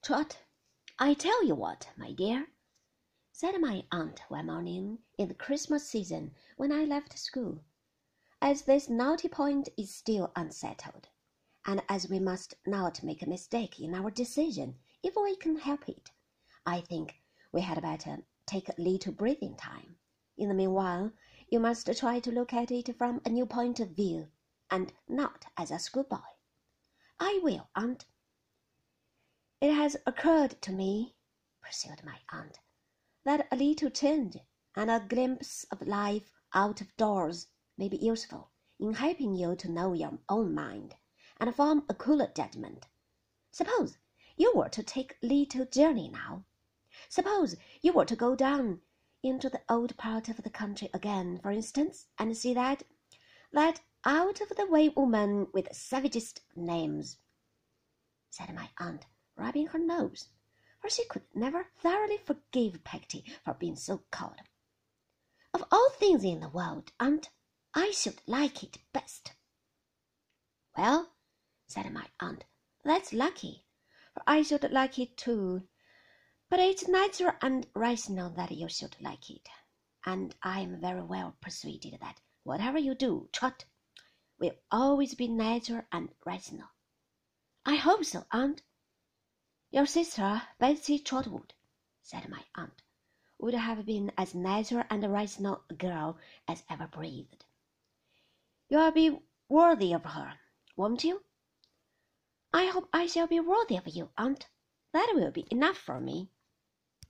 Trot, I tell you what, my dear, said my aunt one morning in the Christmas season when I left school, as this naughty point is still unsettled, and as we must not make a mistake in our decision if we can help it, I think we had better take a little breathing time. In the meanwhile, you must try to look at it from a new point of view, and not as a schoolboy. I will, aunt. It has occurred to me, pursued my aunt, that a little change and a glimpse of life out of doors may be useful in helping you to know your own mind and form a cooler judgment. Suppose you were to take a little journey now. Suppose you were to go down into the old part of the country again, for instance, and see that out-of-the-way woman with the savagest names, said my aunt, rubbing her nose, for she could never thoroughly forgive Peggotty for being so called. Of all things in the world, aunt, I should like it best. Well, said my aunt, that's lucky, for I should like it too. But it's natural and rational that you should like it, and I am very well persuaded that whatever you do, Trot, will always be natural and rational. I hope so, aunt. Your sister, Betsy Trotwood, said my aunt, would have been as natural and rational a girl as ever breathed. You'll be worthy of her, won't you? I hope I shall be worthy of you, aunt. That will be enough for me.